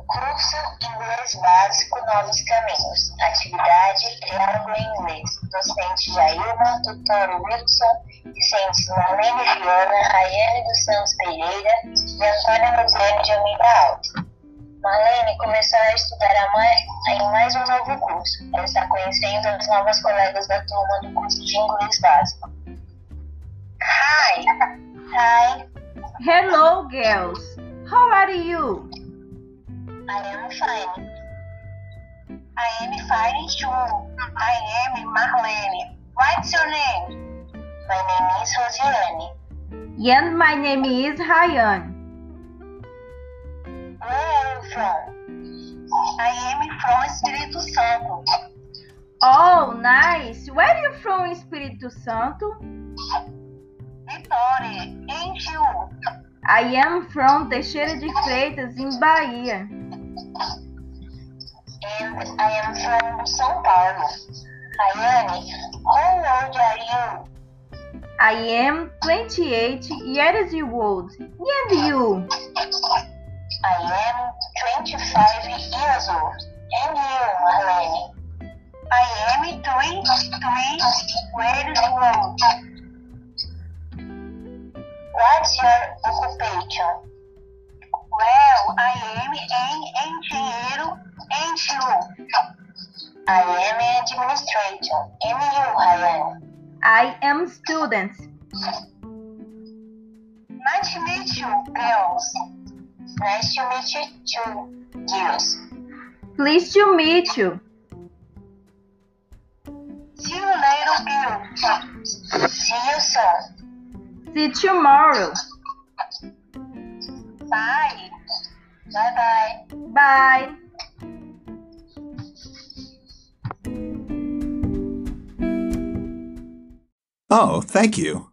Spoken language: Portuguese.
Curso Inglês Básico Novos Caminhos. Atividade Triângulo em Inglês. Docente Jailma, tutor Wilson, discentes Marlene Fiona, Raiane dos Santos Pereira e Antônia Rosiane de Almeida Alves. Marlene começou a estudar em mais um novo curso. Ela está conhecendo as novas colegas da turma do curso de Inglês Básico. Hi. Hi. Hello, girls. How are you? I am fine. I am fine too. I am Marlene. What's your name? My name is Rosiane. And my name is Ryan. Where are you from? I am from Espírito Santo. Oh, nice. Where are you from, Espírito Santo? Vitória. And you? I am from Teixeira de Freitas, in Bahia. And I am from São Paulo. Rayane, how old are you? I am 28 years old. And you? I am 25 years old. And you, Marlene? I am 23 years old. What's your occupation? Well, I am an engenheiro. And you? I am an administrator. And you, Rayane? I am student. Nice to meet you, girls. Nice to meet you too, girls. Pleased to meet you. See you later, girls. See you soon. See you tomorrow. Bye. Bye-bye. Bye. Oh, thank you.